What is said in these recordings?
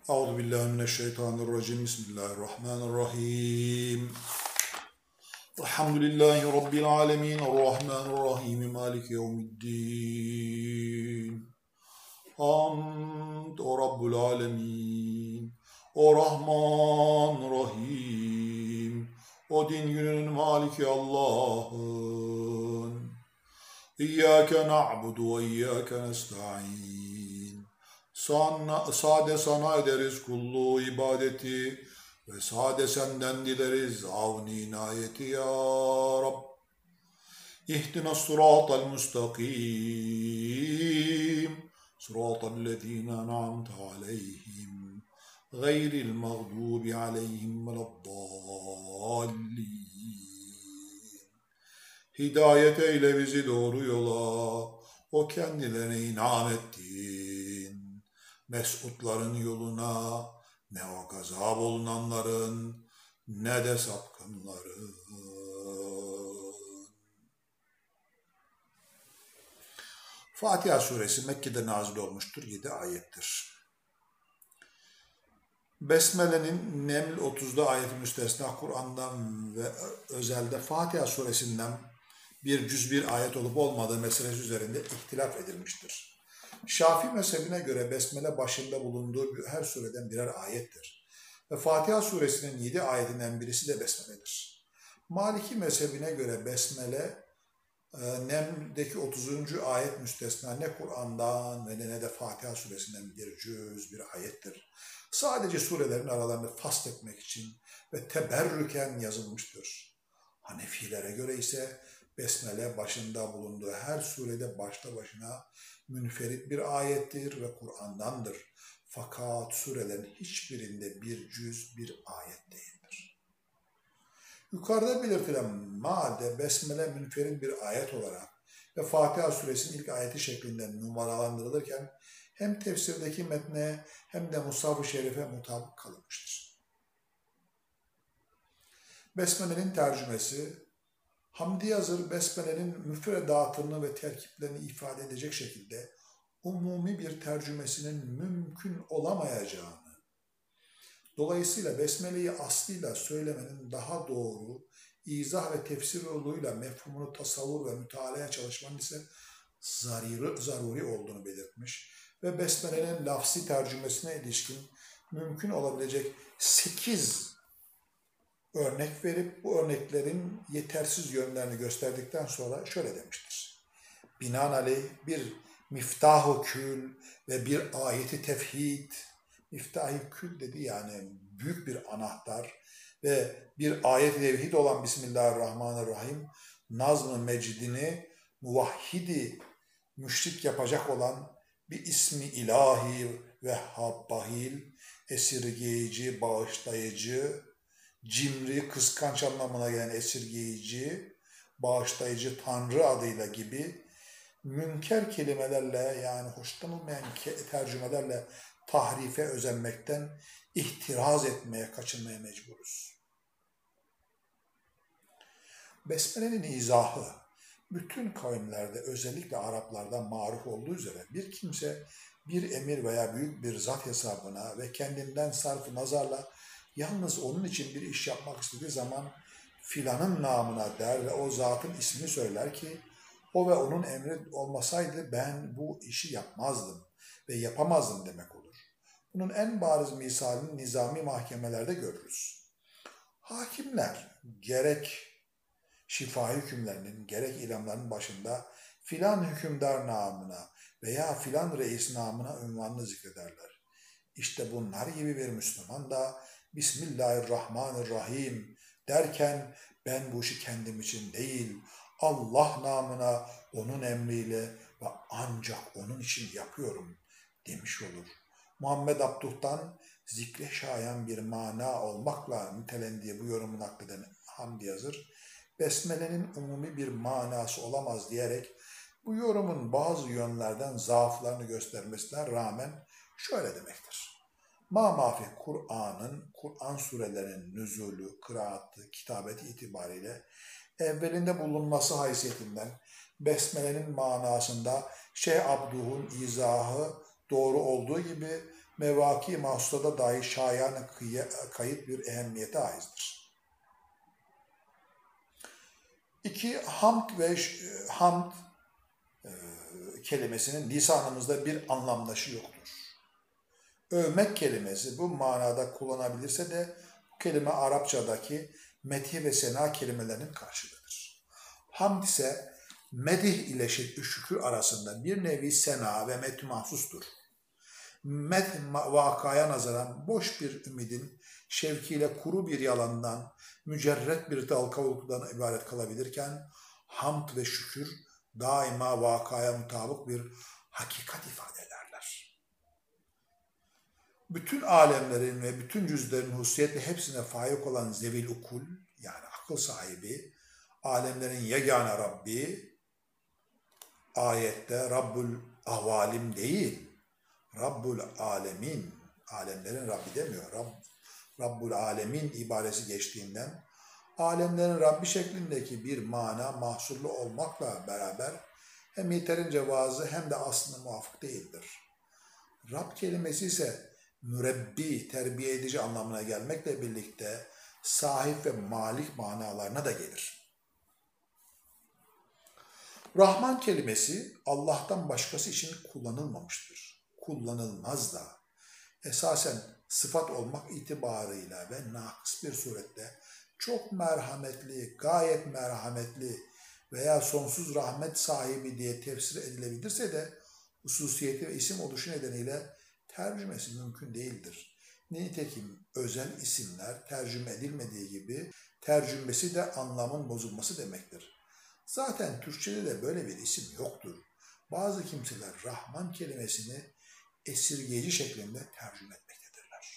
Euzubillahimineşşeytanirracim. Bismillahirrahmanirrahim. Elhamdülillahi Rabbil alemin. Errahmanirrahim. Maliki yevmiddin. Hamd o Rabbul alemin. O Rahman Rahim. O din gününün maliki Allah'ın. İyyâke na'budu ve iyyâke nesta'in. Sade sana ederiz kulluğu ibadeti ve sade senden dileriz avni inayeti ya Rab. İhdina sıratal müstakim sıratal lezine en'amte aleyhim gayril mağdubi aleyhim veleddallin. Hidayet eyle bizi doğru yola, o kendilerine inam ettiğin mesutların yoluna, ne o gazap olunanların ne de sapkınların. Fatiha suresi Mekke'de nazil olmuştur. 7 ayettir. Besmele'nin Neml 30'da ayet-i müstesna Kur'an'dan ve özelde Fatiha suresinden bir cüz bir ayet olup olmadığı meselesi üzerinde ihtilaf edilmiştir. Şafii mezhebine göre Besmele başında bulunduğu her sureden birer ayettir. Ve Fatiha suresinin 7 ayetinden birisi de Besmele'dir. Maliki mezhebine göre Besmele, Neml'deki 30. ayet müstesna ne Kur'an'dan ve ne de Fatiha suresinden bir cüz bir ayettir. Sadece surelerin aralarını fasletmek için ve teberrüken yazılmıştır. Hanefilere göre ise Besmele başında bulunduğu her surede başta başına münferit bir ayettir ve Kur'an'dandır. Fakat surelerin hiçbirinde bir cüz bir ayet değildir. Yukarıda belirtilen madde Besmele münferit bir ayet olarak ve Fatiha suresinin ilk ayeti şeklinde numaralandırılırken hem tefsirdeki metne hem de Mushaf-ı Şerif'e mutabık kalınmıştır. Besmele'nin tercümesi, Hamdi Yazır, Besmele'nin müfredatını ve terkiplerini ifade edecek şekilde umumi bir tercümesinin mümkün olamayacağını, dolayısıyla Besmele'yi aslıyla söylemenin daha doğru, izah ve tefsir yoluyla mefhumunu tasavvur ve mütalaya çalışmanın ise zaruri olduğunu belirtmiş ve Besmele'nin lafsi tercümesine ilişkin mümkün olabilecek 8 örnek verip bu örneklerin yetersiz yönlerini gösterdikten sonra şöyle demiştir. Binaenaleyh bir miftah-ı kül ve bir ayeti tevhid, miftah-ı kül dedi yani büyük bir anahtar ve bir ayet-i tevhid olan Bismillahirrahmanirrahim, nazm-ı mecidini muvahhidi müşrik yapacak olan bir ismi ilahi ve habbahil, esirgeyici, bağışlayıcı, cimri, kıskanç anlamına gelen esirgeyici, bağışlayıcı Tanrı adıyla gibi münker kelimelerle yani hoşlanılmayan tercümelerle tahrife özenmekten ihtiraz etmeye, kaçınmaya mecburuz. Besmele'nin izahı bütün kavimlerde özellikle Araplarda maruf olduğu üzere bir kimse bir emir veya büyük bir zat hesabına ve kendinden sarf-ı nazarla yalnız onun için bir iş yapmak istediği zaman filanın namına der ve o zatın ismini söyler ki o ve onun emri olmasaydı ben bu işi yapmazdım ve yapamazdım demek olur. Bunun en bariz misalini nizami mahkemelerde görürüz. Hakimler gerek şifa hükümlerinin gerek ilamların başında filan hükümdar namına veya filan reis namına ünvanını zikrederler. İşte bunlar gibi bir Müslüman da Bismillahirrahmanirrahim derken ben bu işi kendim için değil, Allah namına, onun emriyle ve ancak onun için yapıyorum demiş olur. Muhammed Abduh'tan zikre şayan bir mana olmakla nitelendiği bu yorumu nakleden Hamdi Yazır, Besmele'nin umumi bir manası olamaz diyerek bu yorumun bazı yönlerden zaaflarını göstermesine rağmen şöyle demektir. Ma-mafi Kur'an surelerinin nüzulü, kıraatı, kitabeti itibariyle evvelinde bulunması haysiyetinden Besmele'nin manasında Şeyh Abduh'un izahı doğru olduğu gibi mevaki mahsusada dahi şayan kayıt bir ehemmiyete aizdir. 2. Hamd kelimesinin lisanımızda bir anlamdaşı yoktur. Övmek kelimesi bu manada kullanabilirse de bu kelime Arapçadaki medih ve sena kelimelerinin karşılığıdır. Hamd ise medih ile şükür arasında bir nevi sena ve medh mahsustur. Medh vakaya nazaran boş bir ümidin şevkiyle kuru bir yalandan, mücerret bir dal kavukludan ibaret kalabilirken hamd ve şükür daima vakaya mutabık bir hakikat ifade ederler. Bütün alemlerin ve bütün cüzlerin hususiyetle hepsine faik olan zevil ukul, yani akıl sahibi, alemlerin yegane Rabbi, ayette Rabbul Avalim değil, Rabbul Alemin, alemlerin Rabbi demiyor, Rabbul Alemin ibaresi geçtiğinden, alemlerin Rabbi şeklindeki bir mana mahsurlu olmakla beraber hem yeterince vazı hem de aslında muvafık değildir. Rab kelimesi ise mürebbi, terbiye edici anlamına gelmekle birlikte sahip ve malik manalarına da gelir. Rahman kelimesi Allah'tan başkası için kullanılmamıştır. Kullanılmaz da. Esasen sıfat olmak itibarıyla ve nakıs bir surette çok merhametli, gayet merhametli veya sonsuz rahmet sahibi diye tefsir edilebilirse de hususiyeti ve isim oluşu nedeniyle tercümesi mümkün değildir. Nitekim özel isimler tercüme edilmediği gibi tercümesi de anlamın bozulması demektir. Zaten Türkçe'de de böyle bir isim yoktur. Bazı kimseler Rahman kelimesini esirgeyici şeklinde tercüme etmektedirler.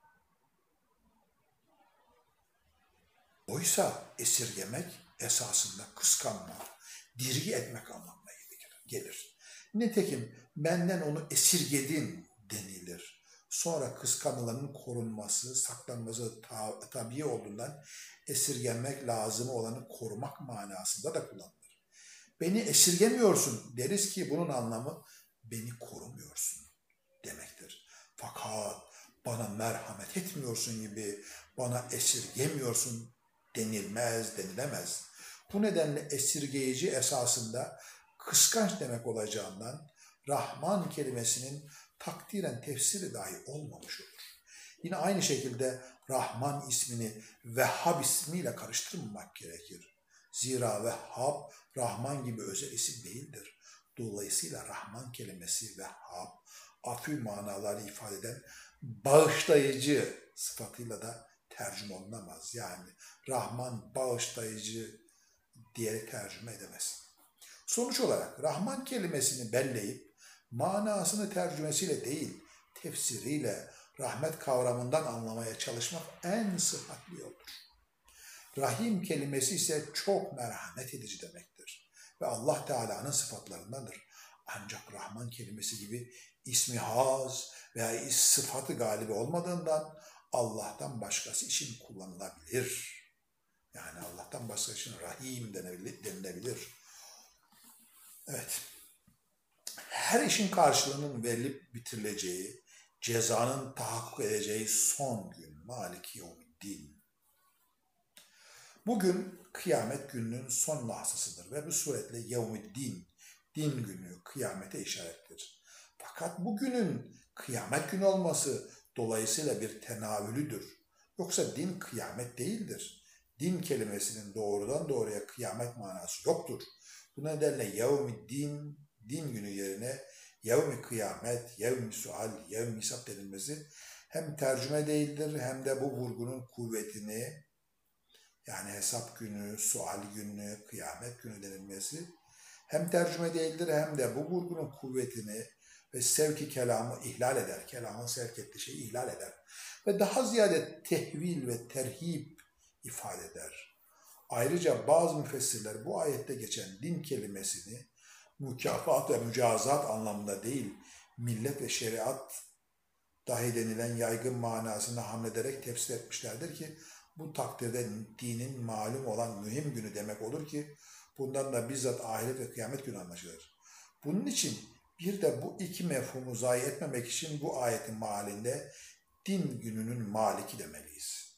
Oysa esirgemek esasında kıskanma, dirgi etmek anlamına gelir. Nitekim benden onu esirgedin denilir. Sonra kıskanılanın korunması, saklanması tabii olduğundan esirgenmek lazım olanı korumak manasında da kullanılır. Beni esirgemiyorsun deriz ki bunun anlamı beni korumuyorsun demektir. Fakat bana merhamet etmiyorsun gibi bana esirgemiyorsun denilemez. Bu nedenle esirgeyici esasında kıskanç demek olacağından Rahman kelimesinin takdiren tefsiri dahi olmamış olur. Yine aynı şekilde Rahman ismini Vehhab ismiyle karıştırmamak gerekir. Zira Vehhab Rahman gibi özel isim değildir. Dolayısıyla Rahman kelimesi Vehhab, afü manaları ifade eden bağışlayıcı sıfatıyla da tercüme olunamaz. Yani Rahman bağışlayıcı diye tercüme edemez. Sonuç olarak Rahman kelimesini belleyip manasını tercümesiyle değil, tefsiriyle rahmet kavramından anlamaya çalışmak en sıhhatli yoldur. Rahim kelimesi ise çok merhamet edici demektir ve Allah Teala'nın sıfatlarındandır. Ancak Rahman kelimesi gibi ismi haz veya sıfatı galibi olmadığından Allah'tan başkası için kullanılabilir. Yani Allah'tan başkası için Rahim denilebilir. Evet. Her işin karşılığının verilip bitirileceği, cezanın tahakkuk edeceği son gün, Maliki Yevmiddin. Bugün kıyamet gününün son lahzasıdır ve bu suretle Yevmiddin, din günü, kıyamete işarettir. Fakat bugünün kıyamet günü olması dolayısıyla bir tenavülüdür. Yoksa din kıyamet değildir. Din kelimesinin doğrudan doğruya kıyamet manası yoktur. Bu nedenle Yevmiddin, din günü yerine yevmi kıyamet, yevmi sual, yevmi hisap denilmesi hem tercüme değildir hem de bu vurgunun kuvvetini, yani hesap günü, sual günü, kıyamet günü denilmesi hem tercüme değildir hem de bu vurgunun kuvvetini ve sevki kelamı ihlal eder. Kelamın sevk ettiği şeyi ihlal eder. Ve daha ziyade tehvil ve terhip ifade eder. Ayrıca bazı müfessirler bu ayette geçen din kelimesini mükafat ve mücazat anlamında değil, millet ve şeriat dahi denilen yaygın manasına hamlederek tefsir etmişlerdir ki bu takdirde dinin malum olan mühim günü demek olur ki bundan da bizzat ahiret ve kıyamet günü anlaşılır. Bunun için Bir de bu iki mefhumu zayi etmemek için bu ayetin mealinde din gününün maliki demeliyiz.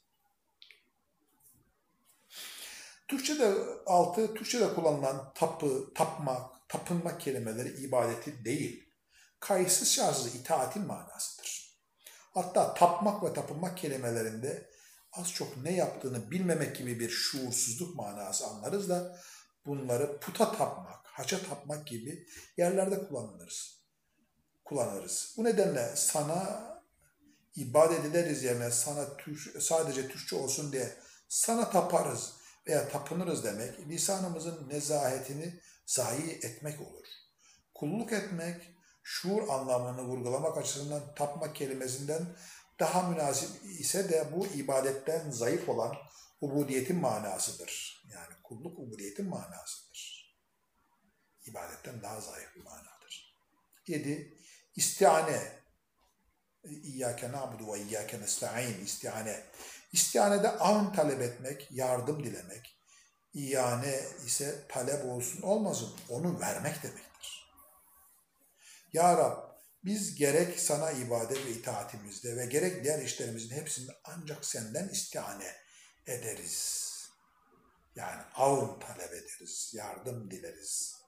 Türkçe'de kullanılan tapmak, tapınmak kelimeleri ibadeti değil, kayıtsız şartsız itaatin manasıdır. Hatta tapmak ve tapınmak kelimelerinde az çok ne yaptığını bilmemek gibi bir şuursuzluk manası anlarız da bunları puta tapmak, haça tapmak gibi yerlerde kullanırız. Bu nedenle sana ibadet ederiz yerine sadece Türkçe olsun diye sana taparız veya tapınırız demek lisanımızın nezahetini zayi etmek olur. Kulluk etmek, şuur anlamını vurgulamak açısından tapmak kelimesinden daha münasip ise de bu ibadetten zayıf olan ubudiyetin manasıdır. Yani kulluk ubudiyetin manasıdır. İbadetten daha zayıf bir manadır. 7. İstiane. İyyâke na'budu ve iyyâke nesta'in. İstiane. İstianede avn talep etmek, yardım dilemek. İyane ise talep olsun olmasın onu vermek demektir. Ya Rab, biz gerek sana ibadet ve itaatimizde ve gerek diğer işlerimizin hepsinde ancak senden istihane ederiz. Yani avn talep ederiz, yardım dileriz.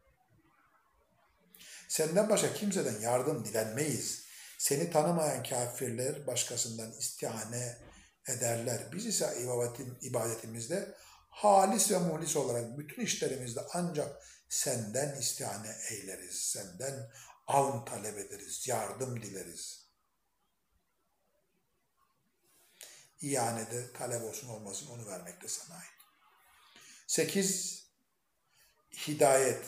Senden başka kimseden yardım dilenmeyiz. Seni tanımayan kafirler başkasından istihane ederler. Biz ise ibadetimizde halis ve muhlis olarak bütün işlerimizde ancak senden istihane eyleriz. Senden avn talep ederiz, yardım dileriz. İhanede talep olsun olmasın onu vermek de sana ait. 8. Hidayet.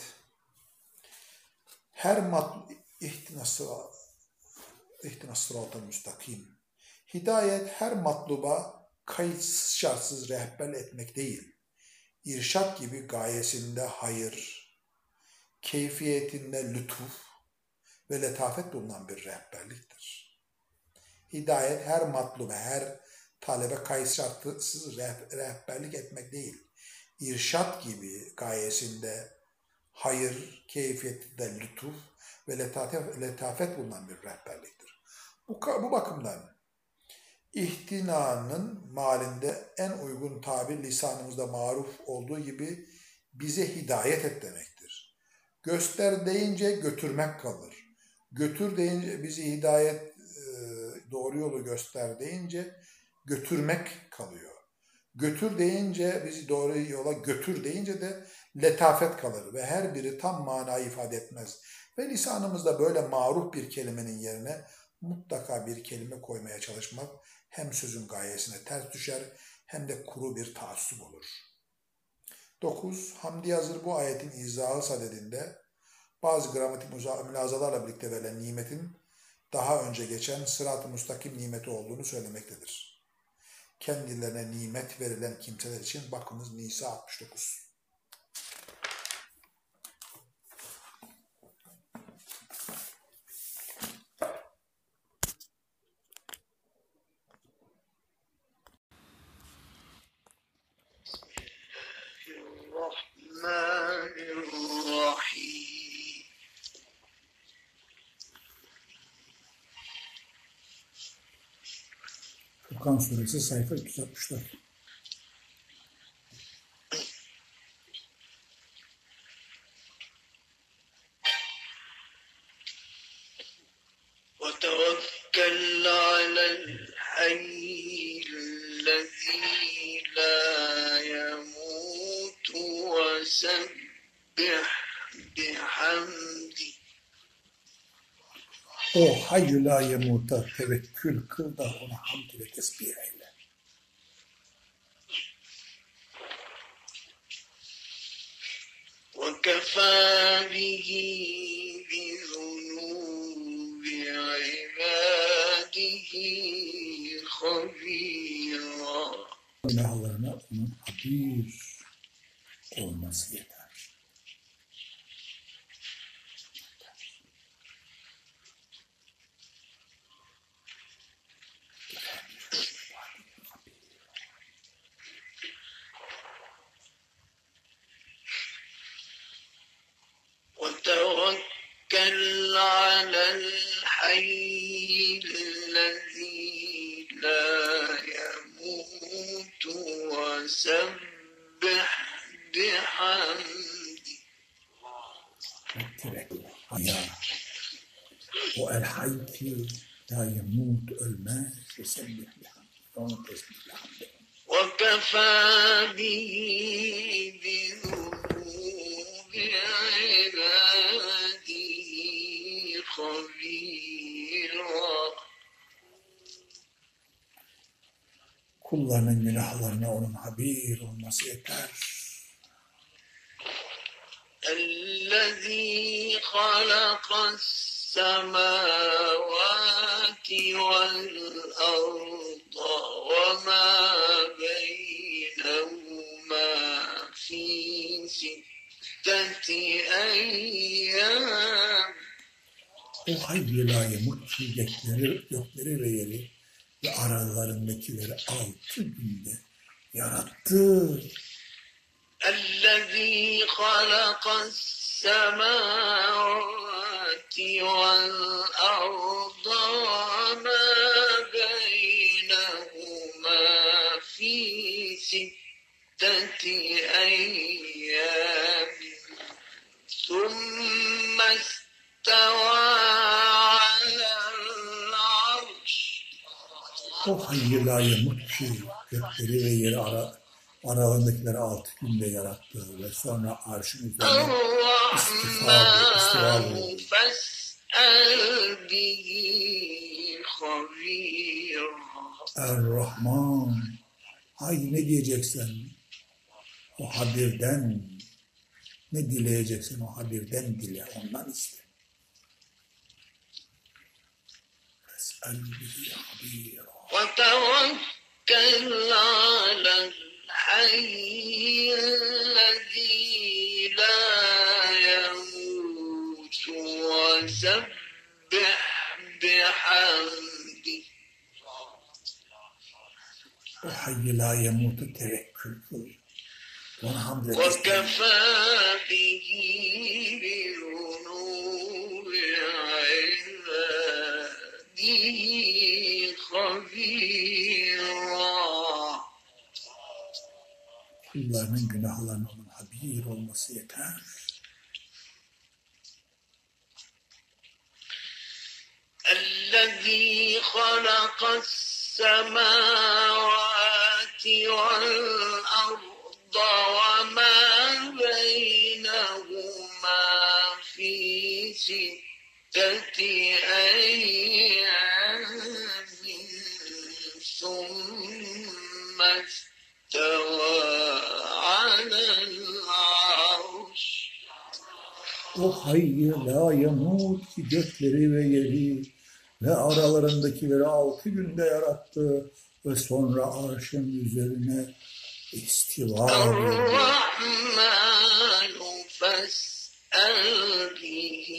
İhtinas sıratal müstakim. Hidayet her matluba kayıtsız şartsız rehber etmek değil. İrşat gibi gayesinde hayır, keyfiyetinde lütuf ve letafet bulunan bir rehberliktir. Hidayet her matluba, her talebe kayıtsız şartsız rehberlik etmek değil. İrşat gibi gayesinde hayır, keyfiyetinde lütuf ve letafet bulunan bir rehberliktir. Bu bakımdan ihtinanın malinde en uygun tabir lisanımızda maruf olduğu gibi bize hidayet et demektir. Göster deyince götürmek kalır. Götür deyince bizi hidayet doğru yolu göster deyince götürmek kalıyor. Götür deyince bizi doğru yola götür deyince de letafet kalır ve her biri tam manayı ifade etmez. Ve lisanımızda böyle maruf bir kelimenin yerine mutlaka bir kelime koymaya çalışmak hem sözün gayesine ters düşer hem de kuru bir taassup olur. 9. Hamdi Yazır bu ayetin izahı sadedinde bazı gramatik mülazalarla birlikte verilen nimetin daha önce geçen sırat-ı müstakim nimeti olduğunu söylemektedir. Kendilerine nimet verilen kimseler için bakınız Nisa 69. Furkan Suresi sayfa 364. وَتَوَكَّلْ عَلَى الْحَيِّ الَّذِي لَا يَمُوتُ وَسَبِّحْ بِحَمْدِهِ. O hayyü la yemuta tevekkül kıl da ona hamd ile tesbih eyle. وَكَفَى بِهِ بِذُنُوبِ عِبَادِهِ خَبِيرًا. Günahlarına onun habir olması yeter. وَتَوَكَّلْ وسبح بحمده. Ya, o el hayy ki la yemut, ölmez. Sebbih bihamdi. Onu tesbihle hamd et. وكفى به بذنوب عباده خبيرا. Kullarının günahlarına onun haber olması yeter. الذي خلق السماوات والأرض وما بينهما في ستة أيام. O hayy la yemut ki gökleri ve yeri ve aralarındakileri 6 günde yarattı. الذي خلق السماوات والأرض وما بينهما في ستة أيام ثم استوى على العرش. O hayy la yemut ki gökleri ve yeri aralarındakileri 6 günde yarattı ve sonra arşın üzerine istiva oldu. Er-Rahman, hay ne diyeceksen o habirden, ne dileyeceksen o habirden dile, ondan iste. Fes'el bihi habira. وتوكل على الحي الذي لا يموت وسبح بحمده. O hayy la yemut'u tevekkül kıl. Ona hamd et. وكفى به بذنوب عباده خبيرا. Kullarının günahlarının onun habir olması yeter. الذي خلق السماوات والأرض وما بينهما في ستة أيام ثم استوى على العرش. O hayy la yemut ki gökleri ve yeri ve aralarındakileri 6 günde yarattı ve sonra arşın üzerine istiva oldu. الرحمن فاسأل به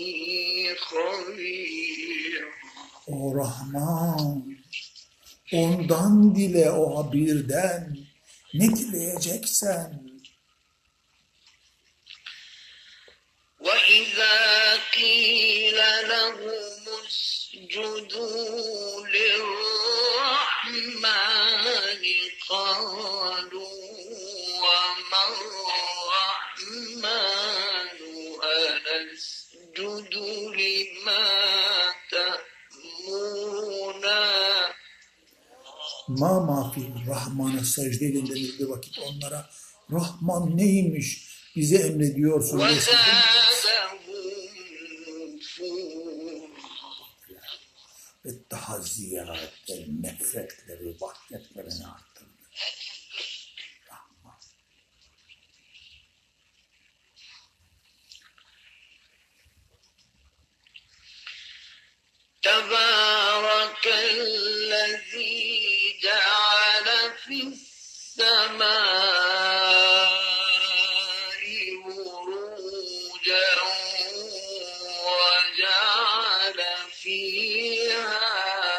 خبيرا. O Rahman, ondan dile o habirden ne dileyeceksen. وإذا قيل لهم اسجدوا للرحمن قالوا وما الرحمن أنسجد لما تأمرنا. Ma mafi Rahman'a secde edin denildiği vakit onlara Rahman neymiş bize emrediyorsun. وزادهم نفورا. Ve daha ziyade nefretleri, vahşetlerini arttırdı. Rahman. تبارك الذي جعل في السماء بروجا وجعل فيها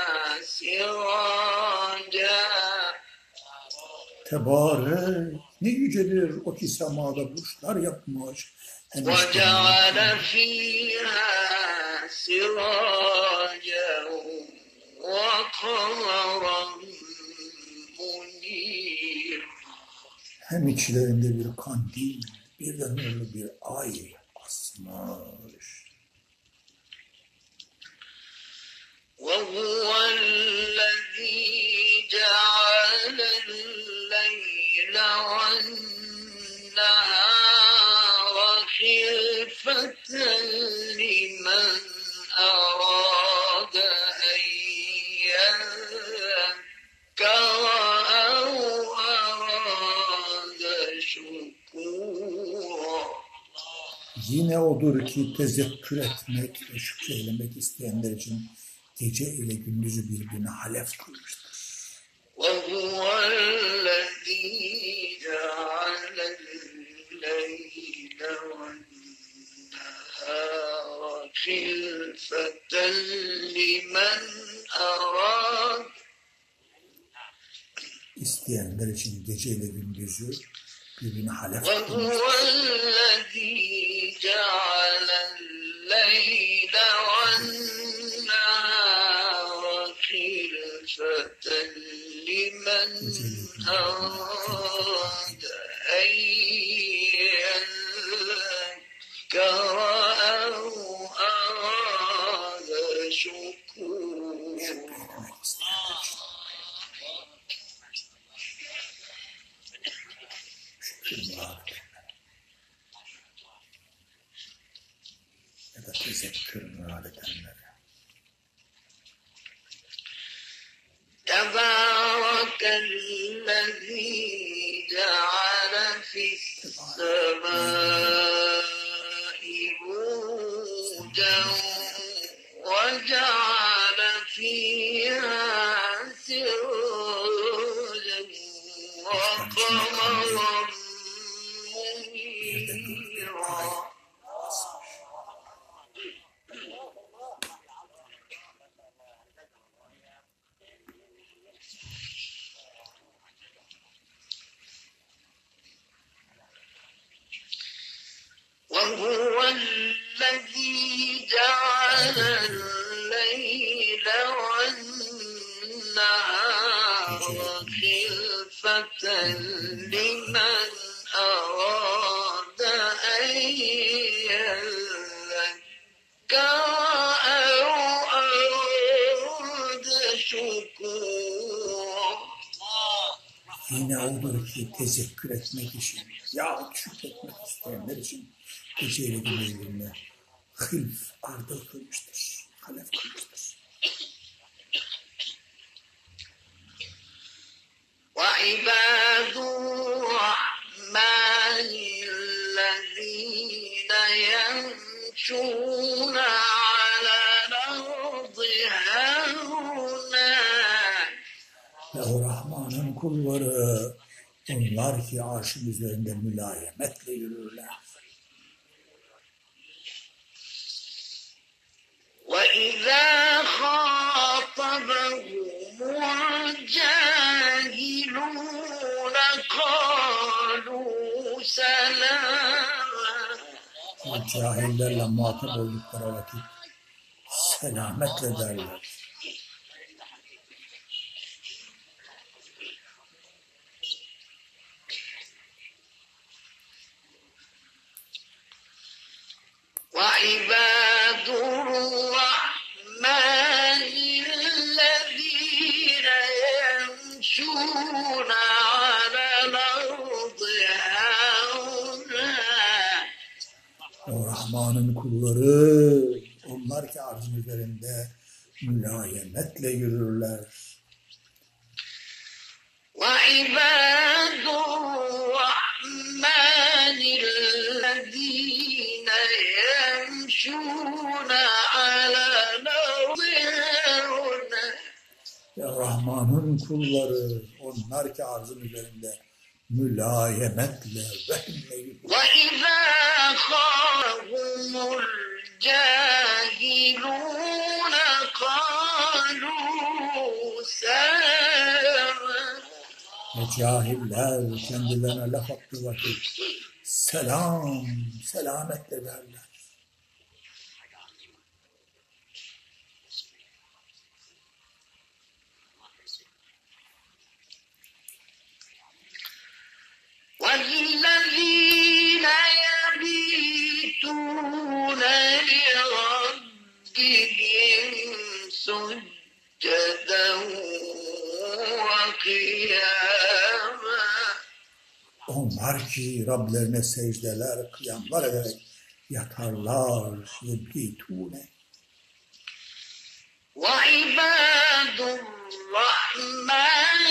سراجا. Tebarek, ne yücedir o ki semada burçlar yapmış. وجعل فيها سراجا وقمرا منيرا. Hem içlerinde bir kandil, bir de nurlu bir ay asmış. وهو الذي جعل الليل والنهار خلفة لمن أراد أن يذكر أو أراد شكورا. Yine odur ki tezekkür etmek ve şükreylemek isteyenler için gece ile gündüzü birbirine halef kılmıştır. وهو الذي جعل الليل والنهار خلفة لمن أراد. İsteyenler için gece ile gündüzü birbirine halef وهو kılmıştır. الذي جعل الليل والنهار خلفة لمن أراد أن يذكر أو أراد شكورا. Ya da tezekkür murad edenlere. تبارك الذي جعل في السماء بروجا وجعل فيها سراجا وقمرا منيرا. وهو الذي جعل الليل والنهار خلفة لمن أراد أن يذكر أو أراد شكورا. Yine odur ki tezekkür etmek için, ya şükretmek isteyenler için gece ile gündüz birbirine hılf, ardıl kılmıştır, halef kılmıştır. وعباد الرحمن الذين يمشون على الأرض هونا. Ve o Rahman'ın kulları, onlar ki arşın üzerinde mülayemetle yürürler. وَإِذَا خَاطَبَهُمُ الْجَاهِلُونَ قَالُوا سَلَامًا. O cahillerle muhatap oldukları vakit selametle derler. وعباد الرحمن الذين يمشون على الأرض هونا. O Rahman'ın kulları, onlar ki arzın üzerinde mülayemetle yürürler. وعباد الرحمن الذين يمشون على الأرض هونا. Ve Rahman'ın kulları, onlar ki arzın üzerinde mülayemetle, vehimle yürürler. وَإِذَا خَافَهُمُ الْجَاهِلُونَ قَالُوا سَلَامًا. Ve cahiller kendilerine laf attığı vakit selam, selametle derler. قياما Onlar ki Rablerine secdeler, kıyamlar ederek yatarlar. Yebitune. وعباد الرحمن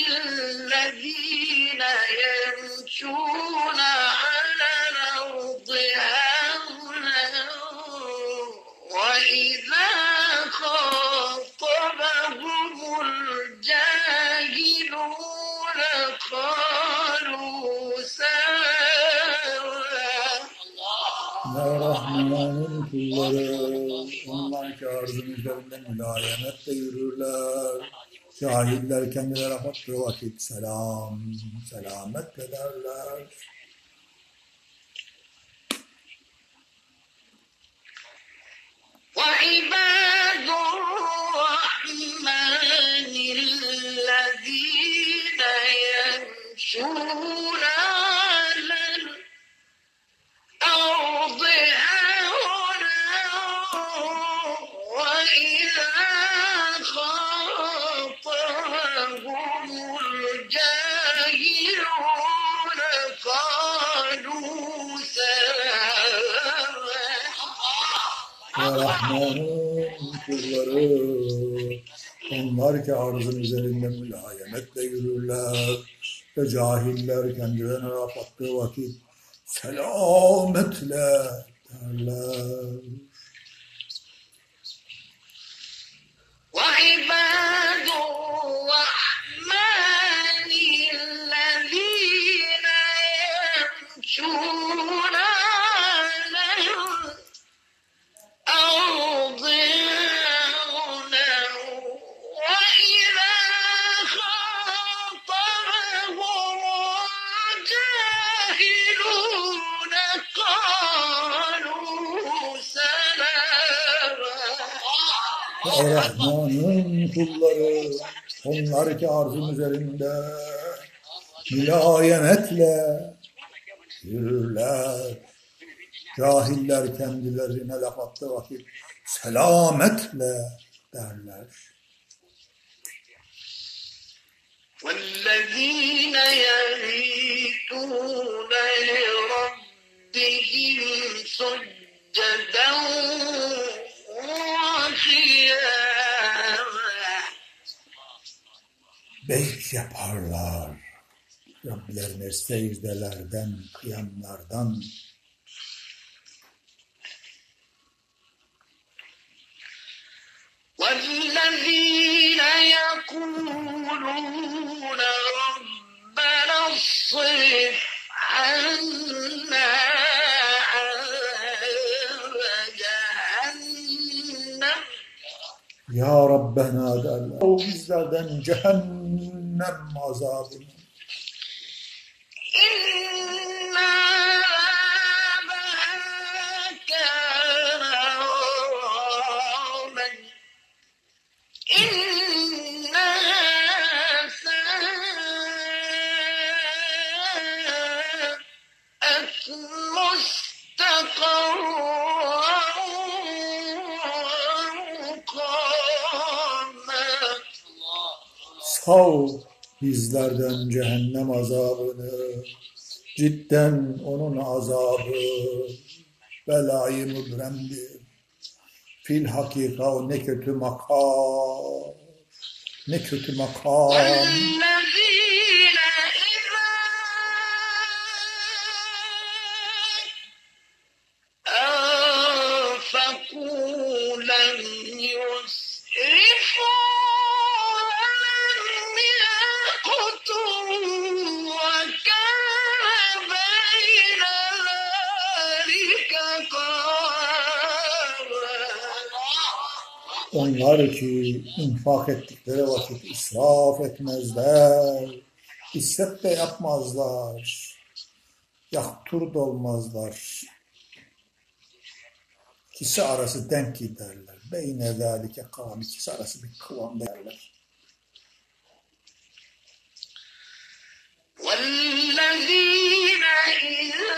الذين يمشون على الأرض هونا وإذا خاطبهم الجاهلون قالوا سلاما Ya Rahman'ın kulları, onlar ki arzın üzerinde mülayemetle yürürler. Cahiller kendileri baktığı vakit selametle derler. وعباد الرحمن الذين يمشون على الأرض هونا وإذا خاطبهم الجاهلون قالوا سلاما Ya Rahman'ın kulları, onlar ki arzın üzerinde mülayemetle yürürler. Ve cahiller kendilerine laf attığı vakit selametle derler. وعباد الرحمن الذين يمشون على الأرض هونا وإذا خاطبهم الجاهلون قالوا سلاما Ya Rahman'ın kulları, onlar ki arzın üzerinde mülayemetle yürürler. Cahiller kendilerine laf attığı vakit selametle derler. والذين يبيتون لربهم سجدا وقياما Beyt yaparlar. Rablerine secdelerden, kıyamlardan. والذين يقولون ربنا اصرف عنا عذاب جهنم Ya Rabbena derler. O bizlerden cehennem azabını. إن عذابها كان غراما إنها ساءت مستقرا ومقاما Sav bizlerden cehennem azabını. Cidden onun azabı belayı mübremdir. Fil hakika o ne kötü makam. Ne kötü makam. والذين إذا أنفقوا لم يسرفوا ولم يقتروا وكان بين ذلك قواما Onlar ki infak ettikleri vakit israf etmezler. İsraf de yapmazlar. Yaktur da olmazlar. İkisi arası denk giderler. Beyne zâlike kâm. İkisi arası bir kıvamda derler. والذين إذا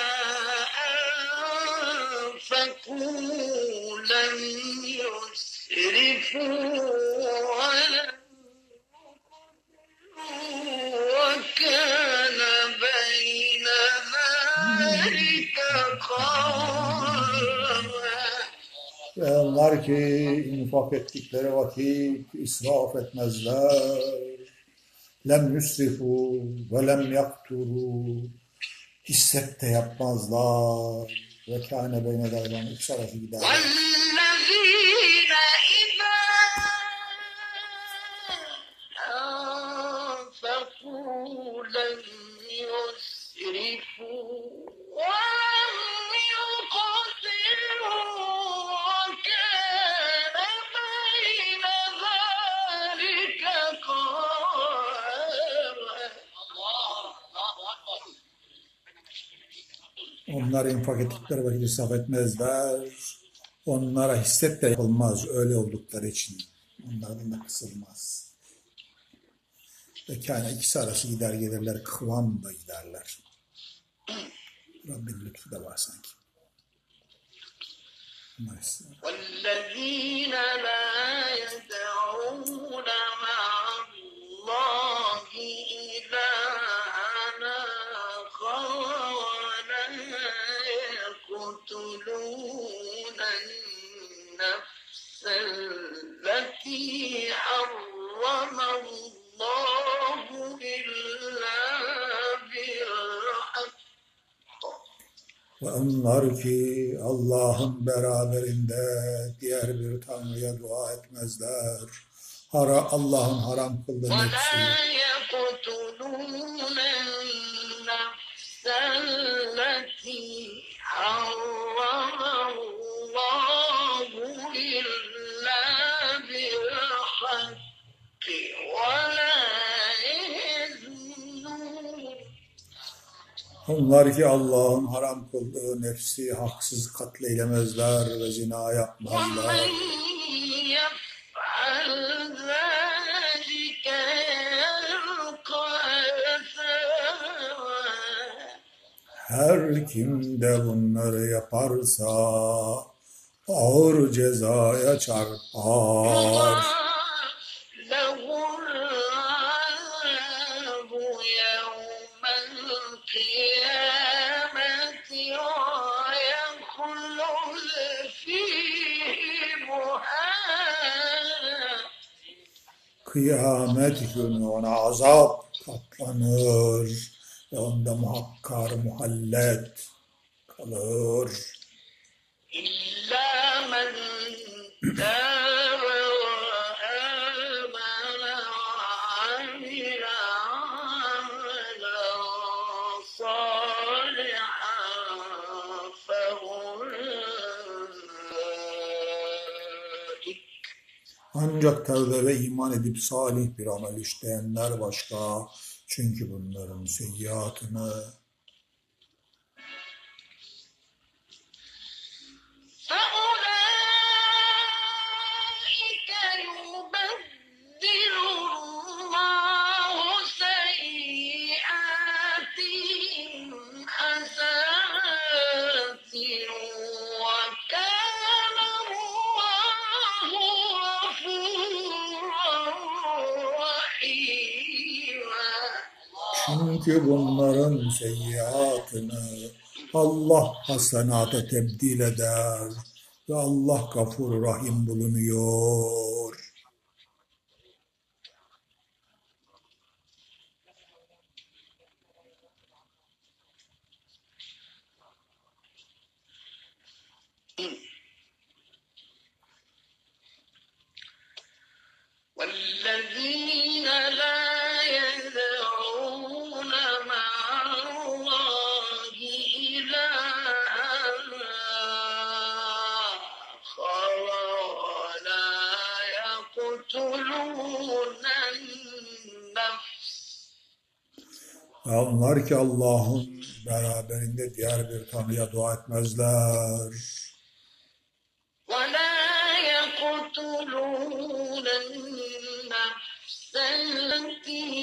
أنفقوا لم يسرفوا ولم وكان بين ذلك قواما. Ve onlar ki infak ettikleri vakit israf etmezler. Lem yusrifu ve lem yakturu. Hisset de yapmazlar. Ve kâne beyne dâlan ikisi arası gider. والذين إذا أنفقوا لم يسرفوا ولم يقتروا وكان بين ذلك قواما. Onlar infak ettikleri vakit israf etmezler. Onlara hisset de yapılmaz öyle oldukları için. Onlardan da kısılmaz. Ve kâne ikisi arası gider gelirler. Kıvamla giderler. Rabbin lütfu da var sanki. Nice. والذين لا يدعون مع الله إلها آخر ولا يقتلون النفس التي حرم الله إلا بالحق. Ve onlar ki Allah'ın beraberinde diğer bir tanrıya dua etmezler. Allah'ın haram kıldığı ولا nefsi. يقتلون النفس التي حرم الله إلا بالحق ولا يزنون. Onlar ki Allah'ın haram kıldığı nefsi haksız katleylemezler ve zina yapmazlar. ومن يفعل ذلك يلقى أثاما. Her kim de bunları yaparsa ağır cezaya çarpar. له العذاب يوم القيامة ويخلد فيه مهانا. Kıyamet günü ona azap katlanır ve onda muhakkar muhallet kalır. إلا من تاب وآمن وعمل عملا صالحا فأولئك Ancak tevbe ve iman edip salih bir amel işleyenler başka. Çünkü bunların seyyiatını فأولئك يبدل الله سيئاتهم حسنات وكان الله غفورا رحيما. çünkü bunların seyyiatını Allah hasenata tebdil eder ve Allah gafur rahim bulunuyor. والذين لا يدعون مع الله إلها آخر ولا يقتلون النفس. Onlar ki Allah'ın beraberinde diğer bir tanrıya dua etmezler. ولا يقتلون النفس التي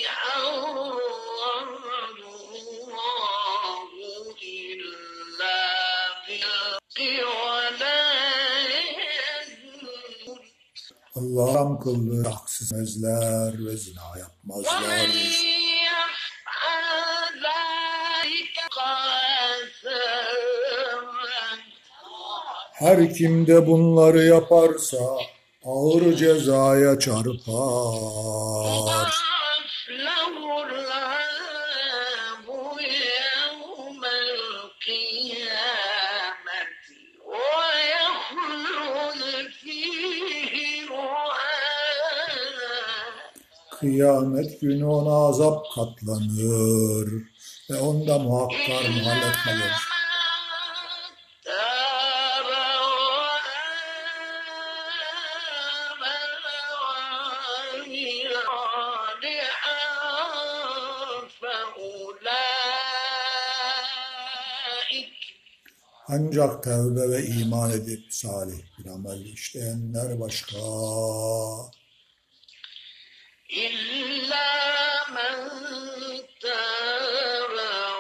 حرم الله إلا بالحق ولا يزنون. Allah haram kıldığı haksız etmezler ve zina ومن yapmazlar. يفعل ذلك قاسما Her kim de bunları yaparsa ağır cezaya çarpar. يضاعف له العذاب يوم القيامة ويخلد فيه مهانا Kıyamet günü ona azap katlanır ve onda muhakkar muhallet kalır. تاب وآمن وعمل صالحا فأولئك Ancak tevbe ve iman edip salih bir amel işleyenler başka. إلا من تاب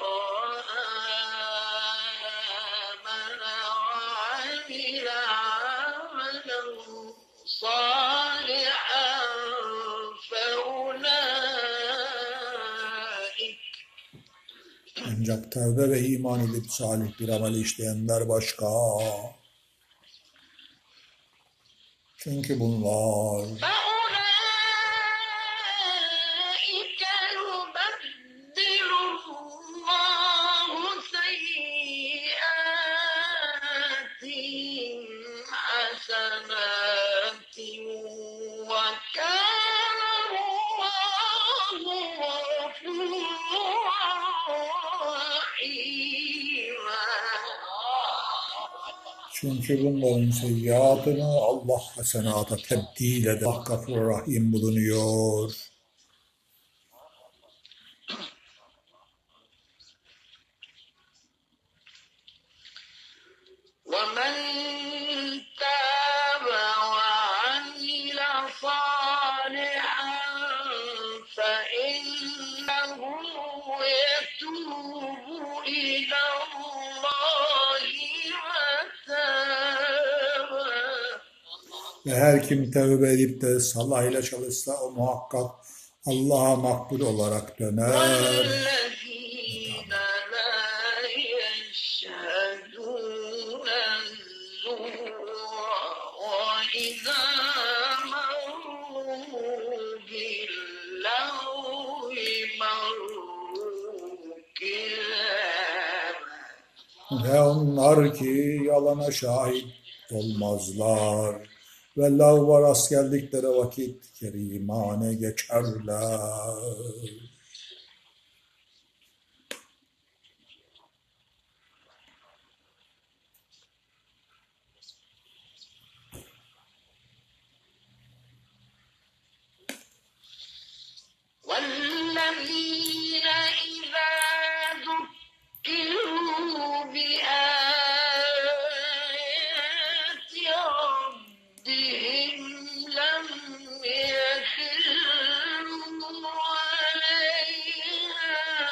وآمن وعمل عملا صالحا فأولئك Ancak tevbe ve iman edip salih bir amel işleyenler başka. Çünkü bunlar فأولئك يبدل الله سيئاتهم حسنات وكان الله غفورا رحيما Çünkü bunların seyyiatını Allah hasenata tebdil eder. Allah gafur rahim bulunuyor. ومن تاب وعمل صالحا فإنه يتوب إلى الله متابا Ve her kim tevbe edip de salayla çalışsa o muhakkak Allah'a makbul olarak döner. والذين لا يشهدون الزور وإذا مروا باللغو مروا كراما Ve onlar ki yalana şahit olmazlar. Ve lavva rast geldikleri vakit kerimane geçerler. والذين إذا ذكروا بآيات ربهم لم يخروا عليها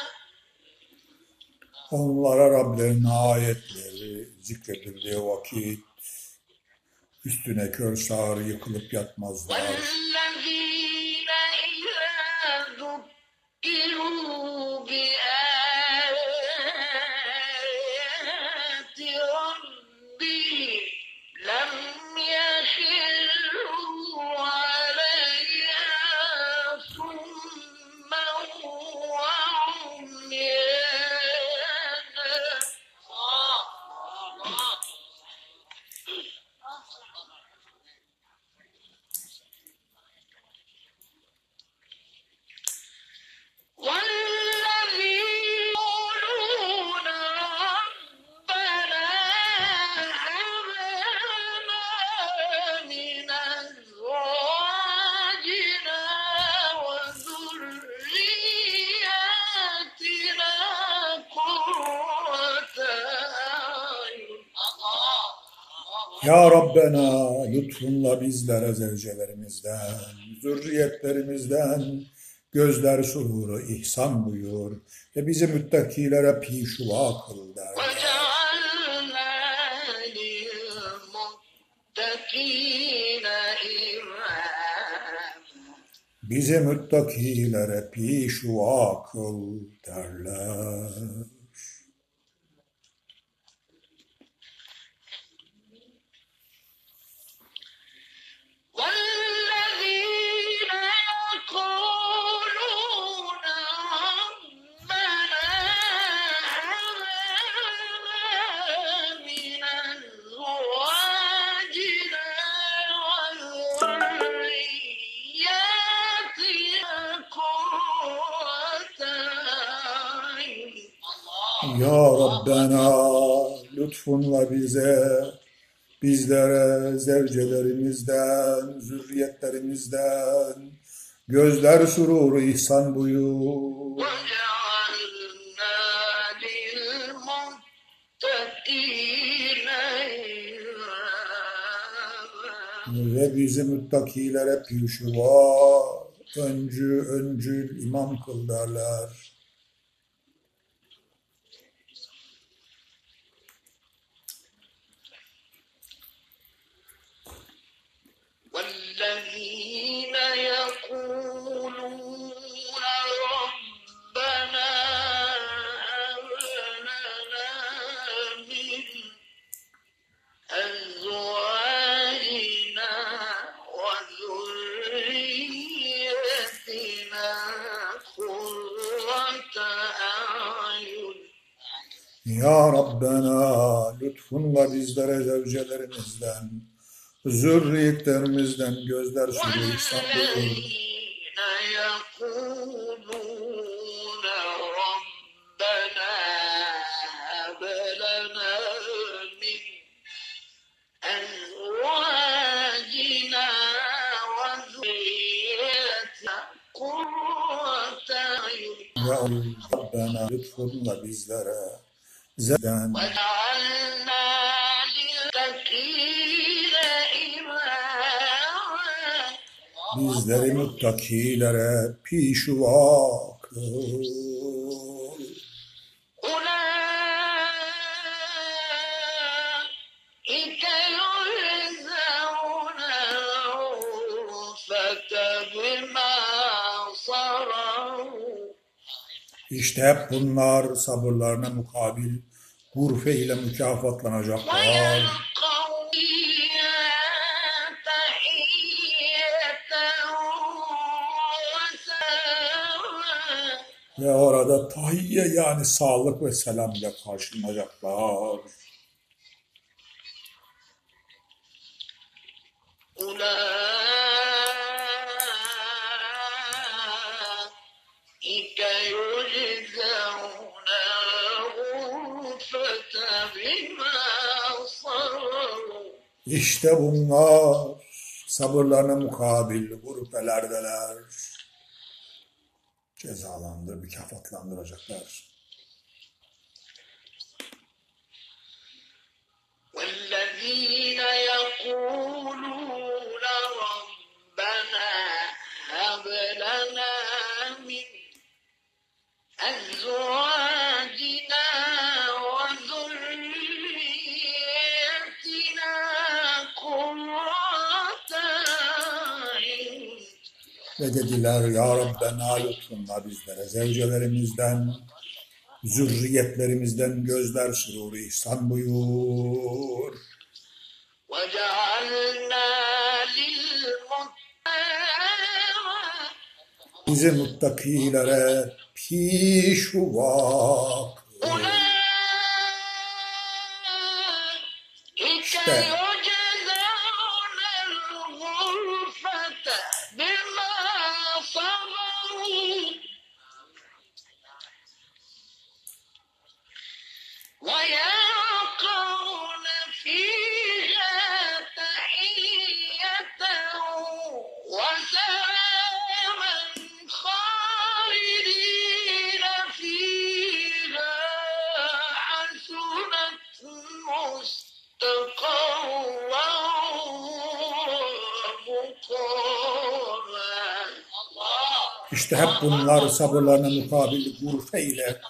Onlara Rablerinin ayetleri zikredildiği vakit üstüne kör sağır yıkılıp yatmazlar. والذين إذا ذكروا بآيات ربهم لم يخروا عليها صما وعميانا والذين يقولون ربنا هب لنا من أزواجنا وذرياتنا قرة أعين Ya Rabbena lütfunla bizlere zevcelerimizden, zürriyetlerimizden gözler sururu ihsan buyur ve bizi müttakilere pişuva kıl derler. وجعلنا للمتقين إماما Bizi müttakilere pişva kıl derler. والذين يقولون ربنا هب لنا من أزواجنا وذرياتنا قرة أعين. Ya Rabbena lütfunla bizlere zevcelerimizden, zürriyetlerimizden gözler sururu ihsan buyur. وجعلنا للمتقين إماما. Ve bizi müttakilere pişva, öncül imam kıl derler. والذين يقولون ربنا هب لنا من أزواجنا وذريتنا قرة أعين. Ya Rabbena lütfunla bizlere zevcelerimizden, zürriyetlerimizden gözler sururu ihsan buyur. والذين يقولون ربنا هب لنا من أزواجنا وذريتنا قرة أعين. Ya Rabbena lütfunla bizlere zevceden, وجعلنا للمتقين إماما. bizleri muttakilere pişva kıl. أولئك يجزون الغرفة بما صبروا. İşte hep bunlar sabırlarına mukabil gurfe ile mükafatlanacaklar. ويلقون فيها تحية وسلاما. Ve orada tahiyye yani sağlık ve selam ile karşılanacaklar. أولئك يجزون الغرفة بما صبروا. İşte bunlar sabırlarına mukabil gurfelerdeler. Mükafatlandıracaklar. والذين يقولون ربنا هب لنا من أزواجنا وذريتنا قرة أعين. Ve dediler ya Rabbena lütfunla bizlere zevcelerimizden, zürriyetlerimizden gözler sururu ihsan buyur. وجعلنا للمتقين Bizi muttakilere pişva kıl. أولئك يجزون الغرفة بما صبروا ويلقون فيها تحية وسلاما خالدين فيها حسنت مستقرا ومقاما. İşte hep bunlar sabırlarına mukabil gurfe ile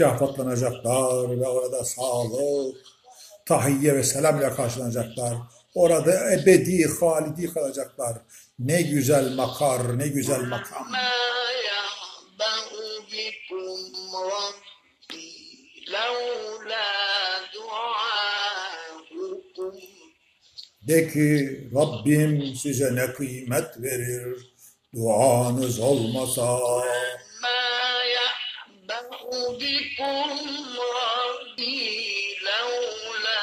mükafatlanacaklar ve orada sağlık, tahiyye ve selam ile karşılanacaklar. Orada ebedi, halidi kalacaklar. Ne güzel makar, ne güzel makam. ما يعبأ بكم ربي لولا دعاؤكم De ki Rabbim size ne kıymet verir duanız olmasa. ما يعبأ بكم ربي لولا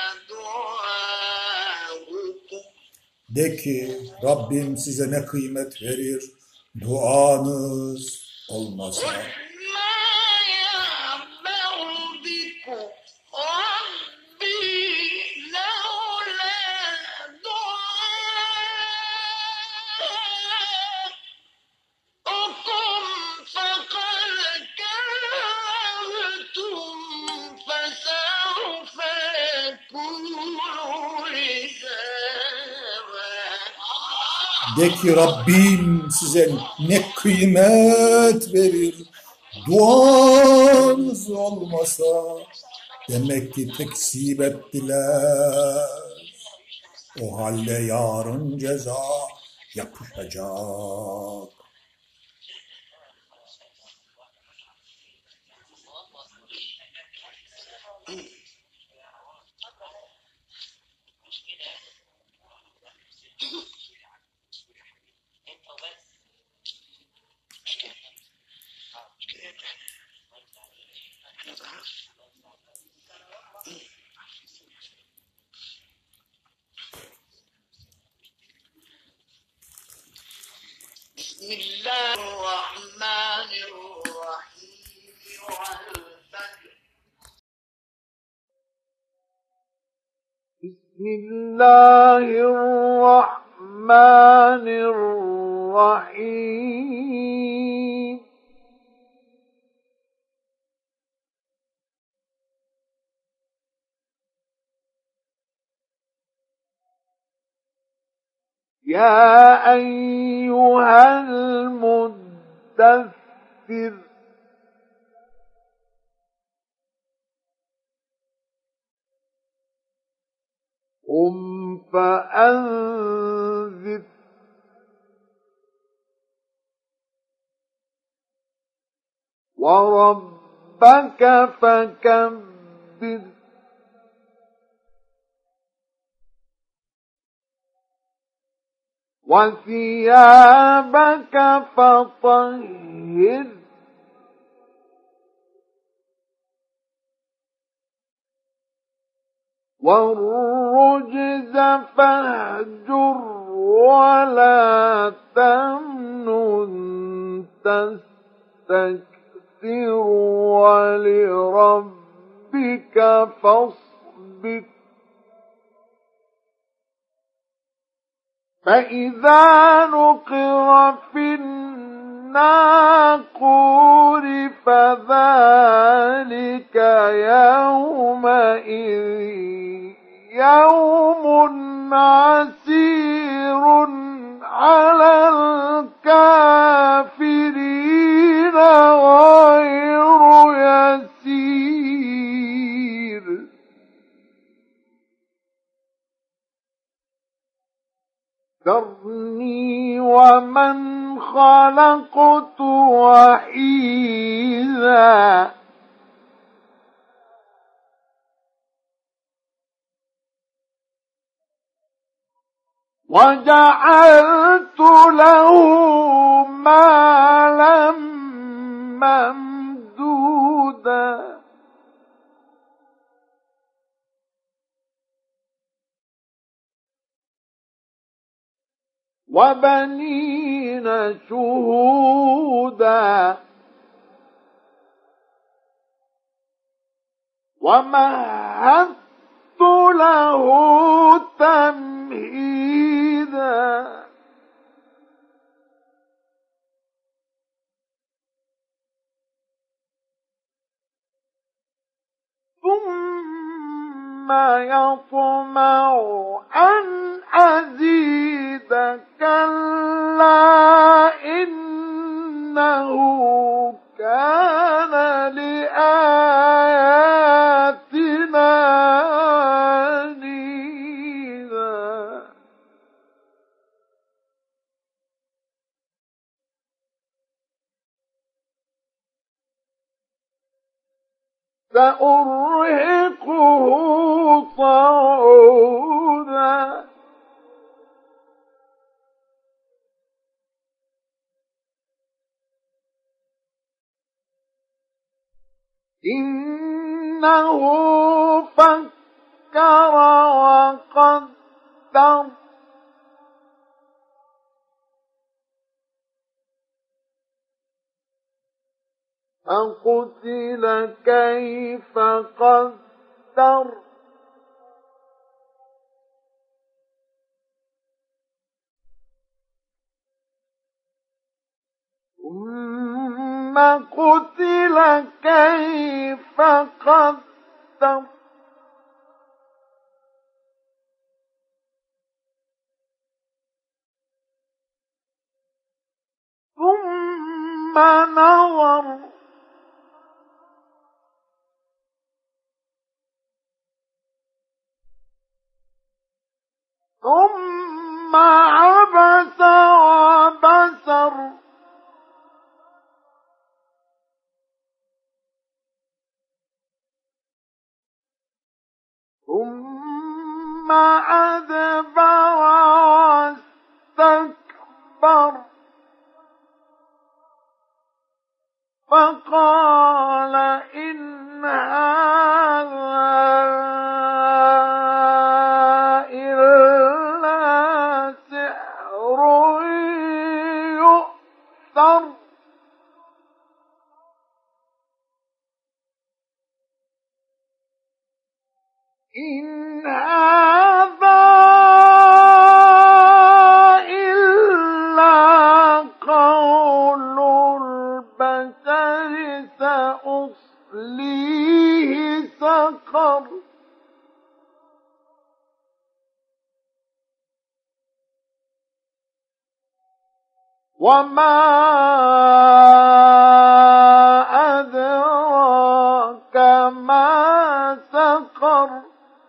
دعاؤكم De ki Rabbim size ne kıymet verir duanız olmasa. قل ما يعبأ بكم ربي لولا دعاؤكم فقد كذبتم فسوف يكون لزاما De ki Rabbim size ne kıymet verir duanız olmasa. Demek ki tekzip ettiler. O halde yarın ceza yapışacak. بسم الله الرحمن الرحيم والفجر بسم الله الرحمن الرحيم يا أيها المدثر قم فأنذر وربك فكبر وثيابك فطهر والرجز فاهجر ولا تمنن تستكثر ولربك فاصبر فإذا نقر في الناقور فذلك يومئذ يوم عسير على الكافرين غير يسير ذرني ومن خلقت وحيدا وجعلت له مالا ممدودا وبنين شهودا ومهدت له تمهيدا ثم يطمع أن أزيد كلا إنه كان لآياتنا عنيدا سأرهقه صعودا إنه فكر وقدر فقتل كيف قدر ثم قتل كيف قدر ثم نظر ثم عبس وبسر ثم أدبر واستكبر فقال إن هذا إلا سحر يؤثر إن هذا إلا قول البشر سأصليه سقر وما أدراك ما سقر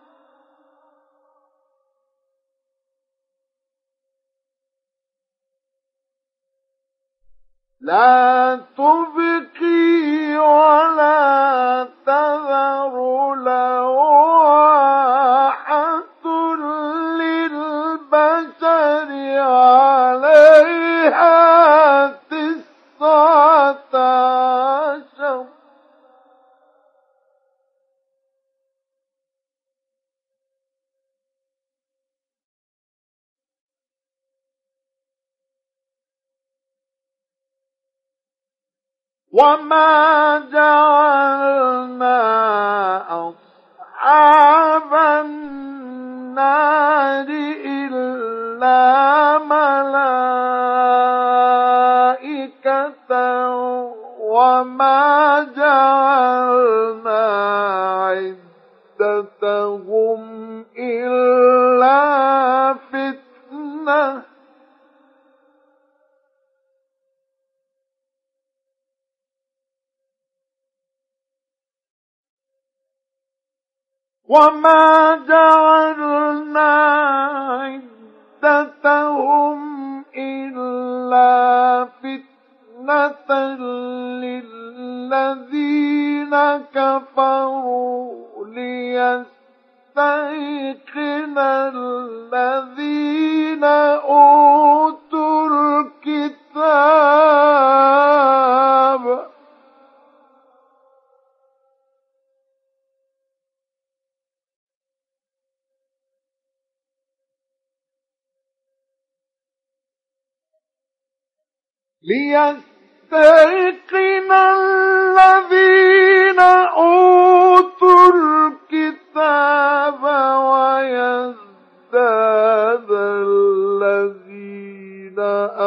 لا تبقي ولا تذر لواحة للبشر عليها 19 وما جعلنا أصحاب النار إلا ملائكة وما جعلنا عدتهم إلا فتنة وما جعلنا عدتهم إلا فتنة للذين كفروا ليستيقن الذين أوتوا الكتاب ليستيقن الذين أوتوا الكتاب ويزداد الذين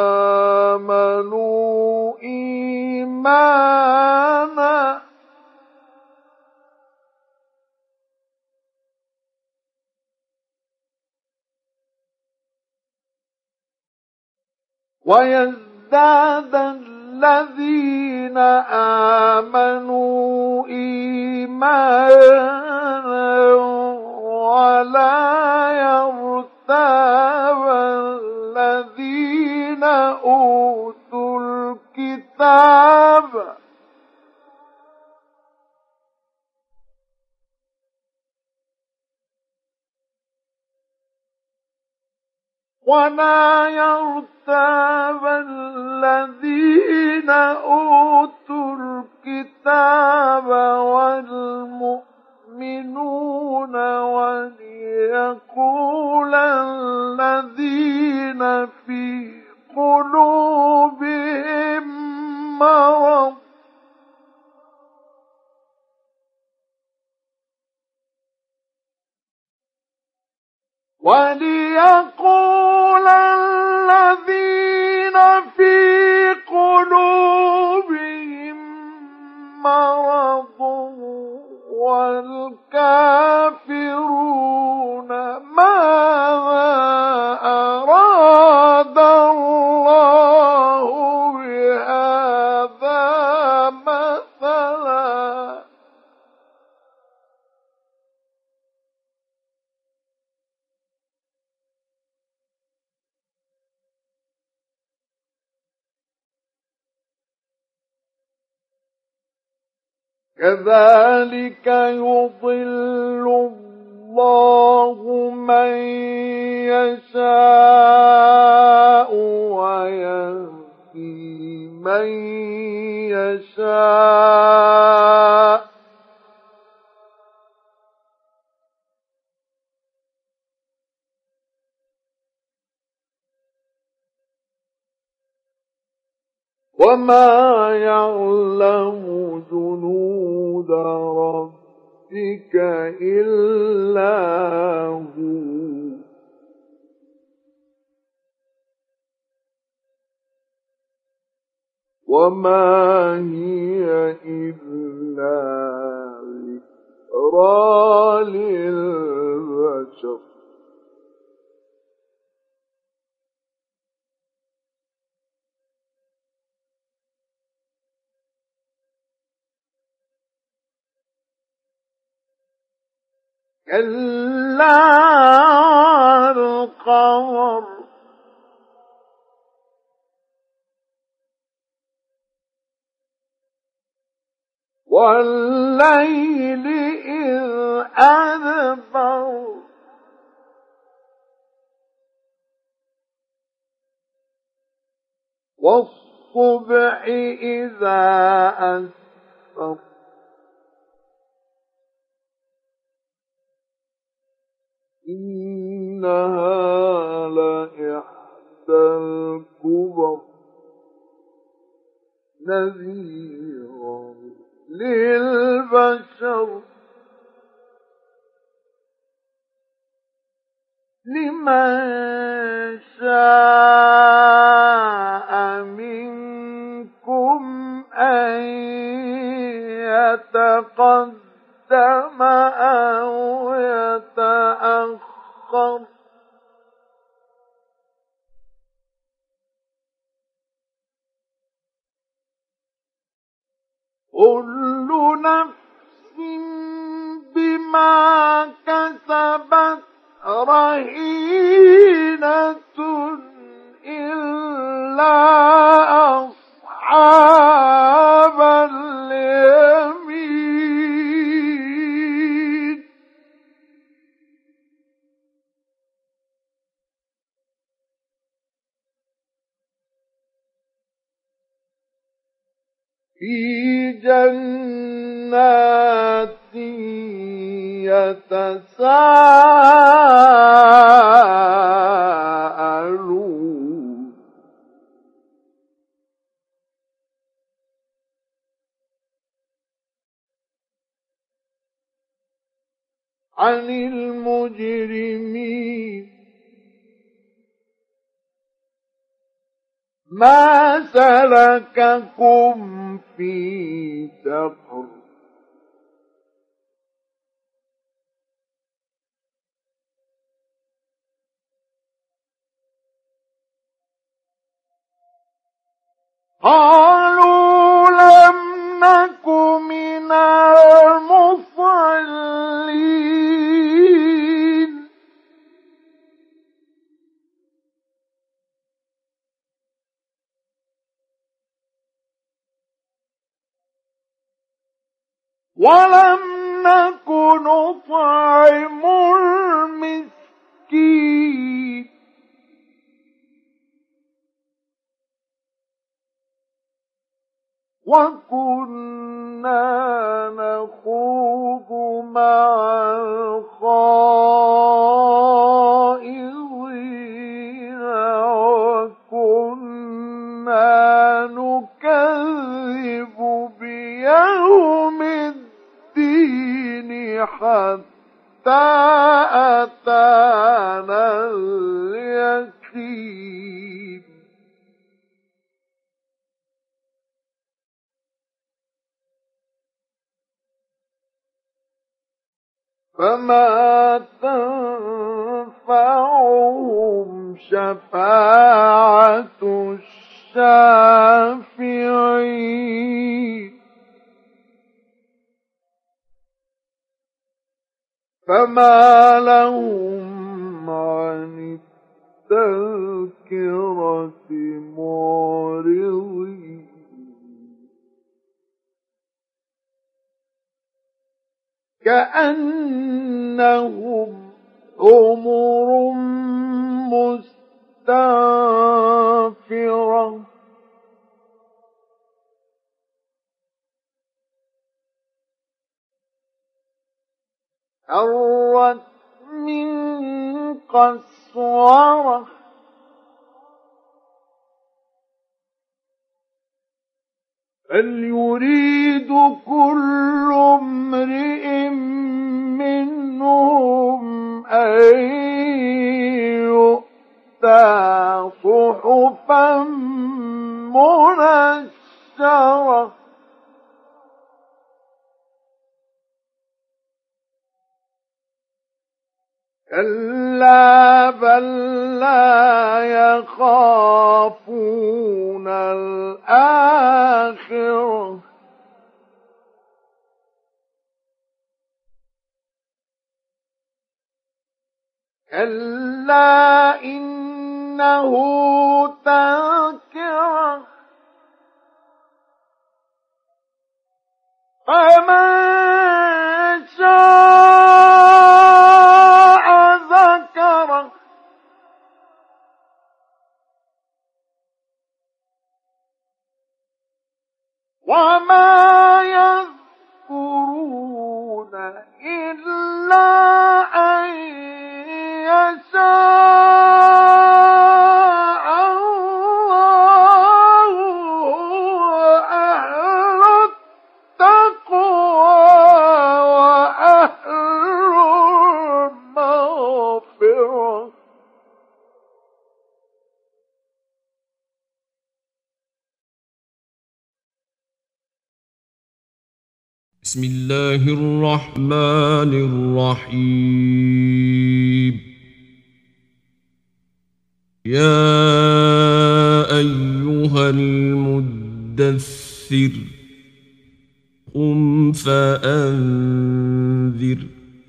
آمنوا إيمانا ويزداد الذين آمنوا إيمانا ولا يرتاب الذين أوتوا الكتاب ولا يرتاب الذين أوتوا الكتاب والمؤمنون وليقول الذين في قلوبهم مرض وليقول الذين في قلوبهم مرض والكافرون ماذا أراد الله بهذا مثلا كذلك يضل الله من يشاء ويهدي من يشاء وما يعلم جنود ربك إلا هو وما هي إلا ذكرى للبشر كلا القمر والليل إذ أدبر والصبح إذا أسفر إنها لإحدى الكبر نذيرا للبشر لمن شاء منكم أن يتقدم أو يتأخر كل نفس بما كسبت رهينة إلا أصحاب اليمين في جنات يتساءلون عن المجرمين ما سلككم في سقر قالوا لم نك من المصلين ولم نك نطعم المسكين وكنا نخوض مع الخائضين وكنا نكذب بيوم الدين حتى أتانا اليقين فما تنفعهم شفاعة الشافعين فما لهم عن التذكرة معرضين كأنهم حمر مستنفرة فرت من قسورة بل يريد كل امرئ منهم أن يؤتى صحفا منشرة كلا بل لا يخافون الآخرة كلا إنه تذكرة فمن شاء ذكره وما يذكرون إلا أن يشاء الله وأهل التقوى وأهل المغفرة بسم الله الرحمن الرحيم يا أيها المدثر قم فأنذر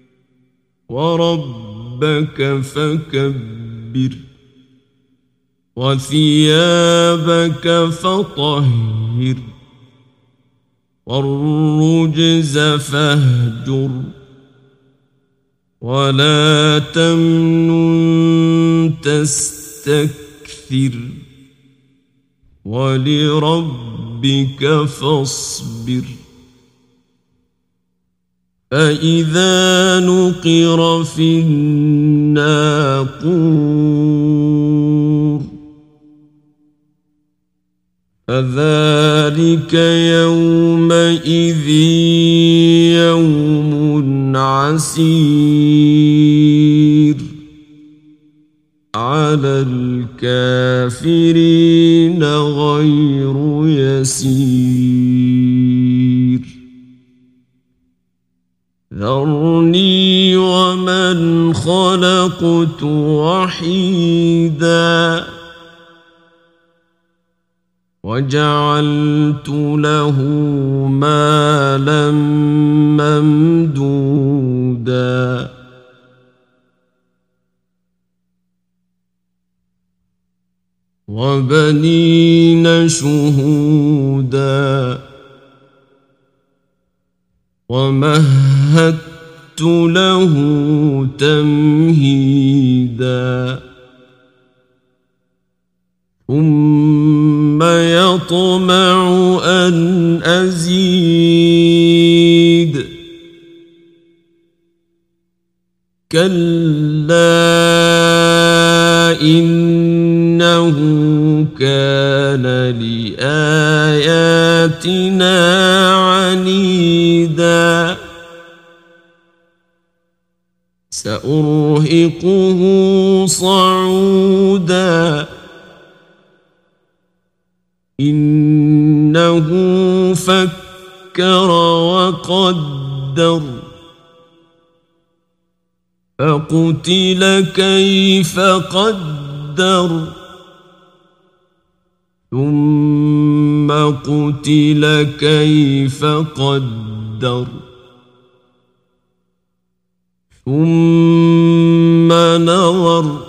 وربك فكبر وثيابك فطهر والرجز فاهجر ولا تمنن تستكثر ولربك فاصبر فإذا نقر في الناقور فذلك يومئذ يوم عسير على الكافرين غير يسير ذرني ومن خلقت وحيدا وجعلت له مالا ممدودا وبنين شهودا ومهدت له تمهيدا ثم ثم يطمع أن أزيد كلا إنه كان لآياتنا عنيدا سأرهقه صعودا إنه فكر وقدر فقتل كيف قدر ثم قتل كيف قدر ثم نظر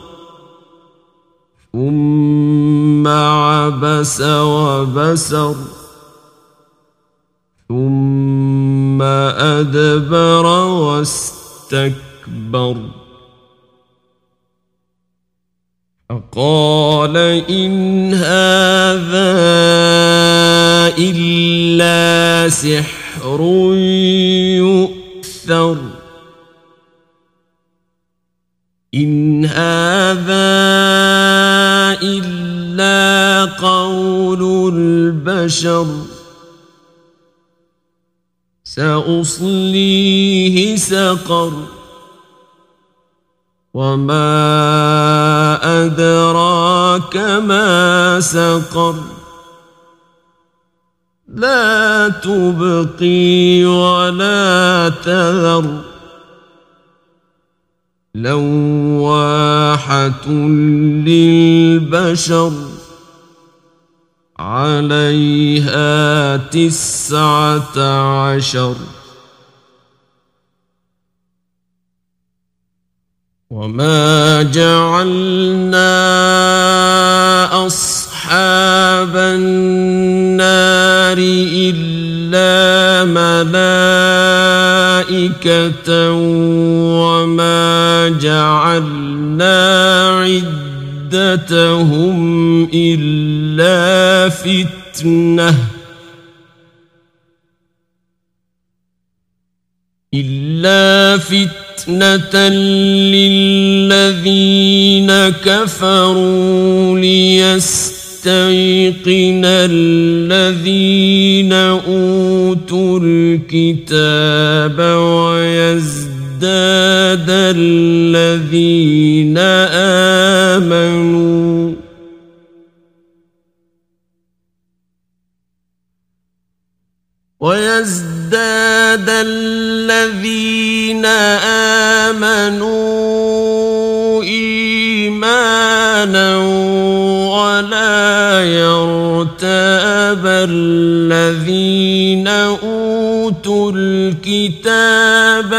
ثم عبس وبسر ثم أدبر واستكبر فقال إن هذا إلا سحر يؤثر إن هذا إلا قول البشر سأصليه سقر وما أدراك ما سقر لا تبقي ولا تذر لواحة للبشر عليها 19 وما جعلنا أصحاب النار إلا ملائكة وما جعلنا عدتهم إلا فتنة للذين كفروا ليستيقن الذين أوتوا الكتاب ويزداد الذين آمنوا إيمانا ولا يرتاب الذين أوتوا الكتاب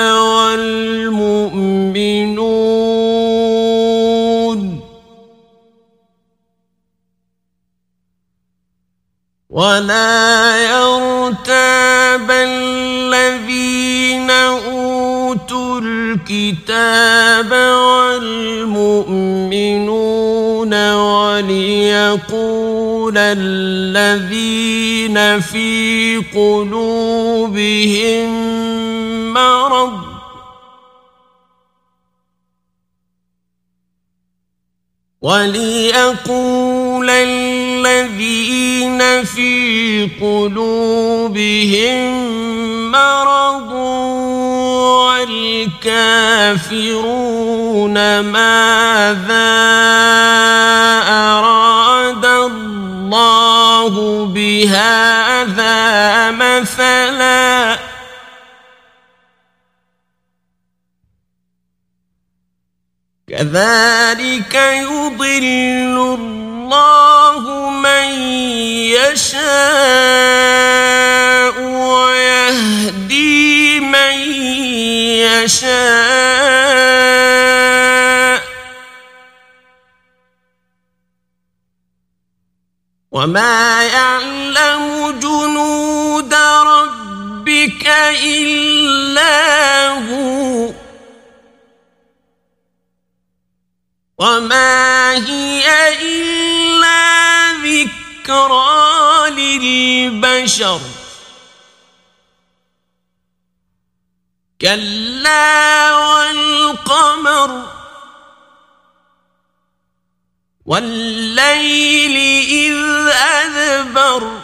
والمؤمنون ولا يرتاب الذين أوتوا الكتاب والمؤمنون وليقول الذين في قلوبهم مرض والكافرون ماذا أراد الله بهذا مثلا كذلك يضل الله من يشاء ويهدي من يشاء وما يعلم جنود ربك إلا هو وما هي إلا ذكرى ذكرى للبشر كلا والقمر والليل إذ أدبر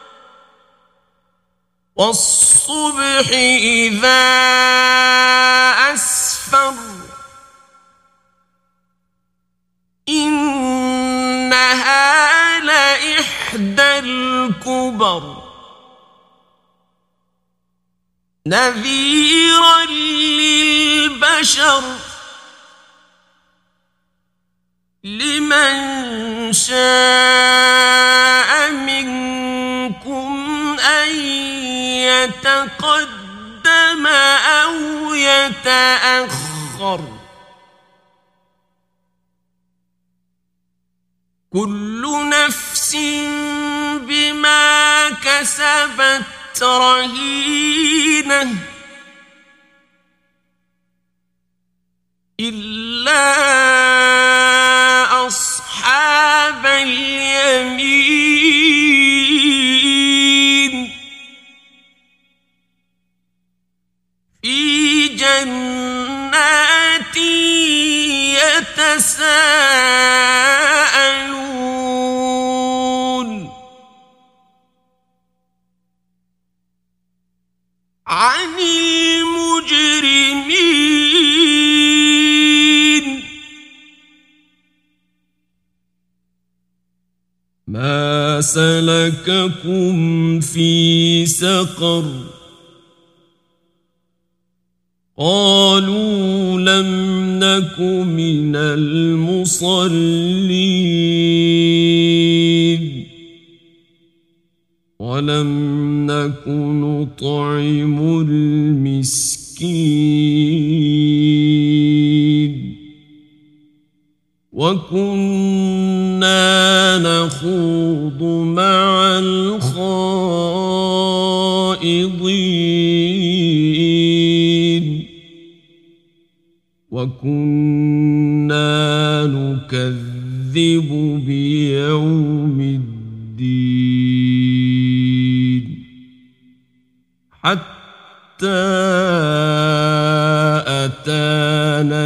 والصبح إذا أسفر إنها لإحدى الكبر نذيرا للبشر لمن شاء منكم أن يتقدم أو يتأخر كل نفس بما كسبت رهينة إلا أصحاب اليمين في جنات يتساءلون عن المجرمين ما سلككم في سقر قالوا لم نك من المصلين ولم نك نطعم المسكين وكنا نخوض مع الخائضين وكنا نكذب بيوم الدين حتى أتانا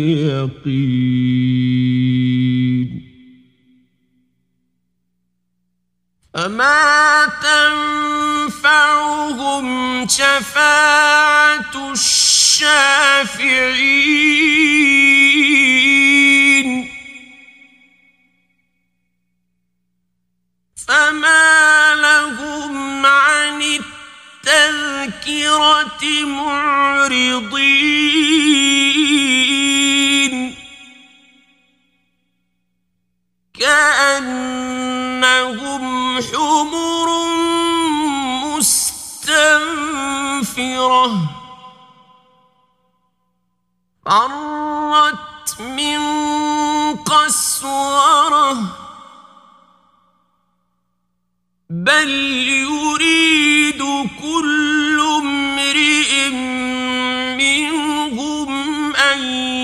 اليقين فما تنفعهم شفاعة الشافعين فما لهم عن التذكرة معرضين كأنهم حمر مستنفرة فرت من قسورة بل يريد كل امرئ منهم أن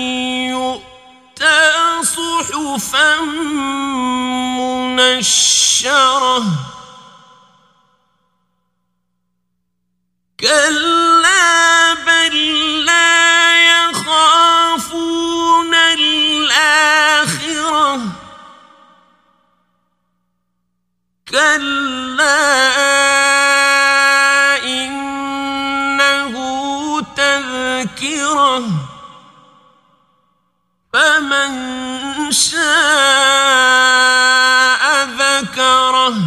يؤتى صحفا منشرة كلا بل لا يخافون الآخرة كلا إنه تذكرة فمن شاء ذكره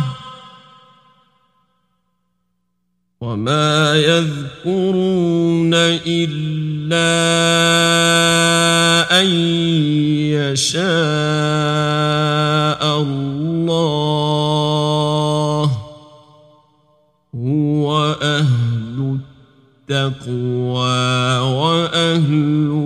وما يذكرون إلا أن يشاء الله هو أهل التقوى وأهل